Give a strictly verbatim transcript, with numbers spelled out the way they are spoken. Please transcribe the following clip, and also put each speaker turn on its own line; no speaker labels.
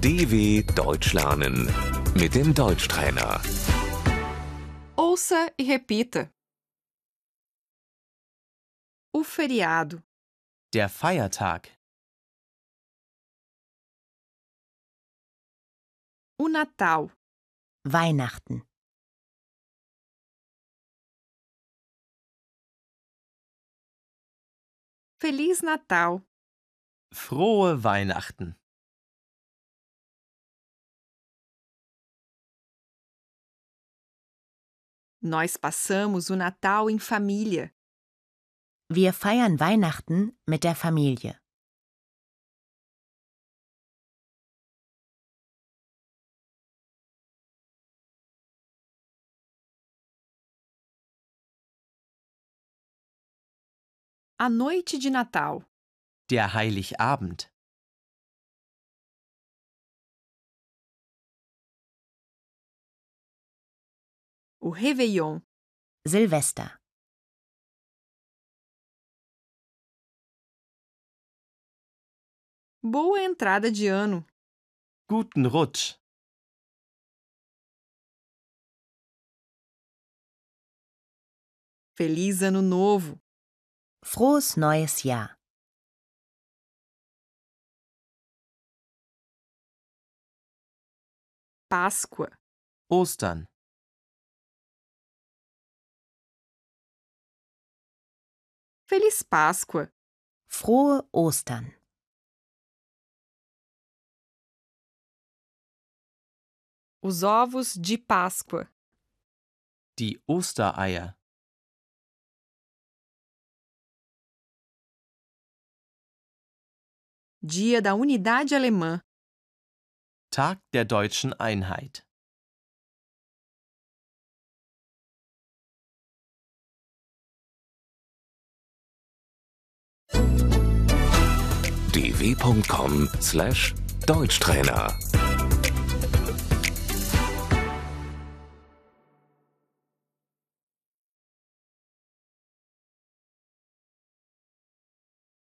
D W Deutsch lernen mit dem Deutschtrainer.
Ouça e repita. O feriado,
Der Feiertag.
o Natal,
Weihnachten,
Feliz Natal,
Frohe Weihnachten.
nós passamos o Natal em família.
wir feiern Weihnachten mit der Familie.
A noite de Natal,
Der Heiligabend.
o Réveillon,
Silvester,
boa entrada de ano,
Guten Rutsch.
Feliz Ano Novo,
frohes neues Jahr,
Páscoa,
Ostern.
Feliz Páscoa,
frohe Ostern,
os ovos de Páscoa,
Die Ostereier.
Dia da Unidade Alemã,
Tag der deutschen Einheit.
d w punkt com slash Deutschtrainer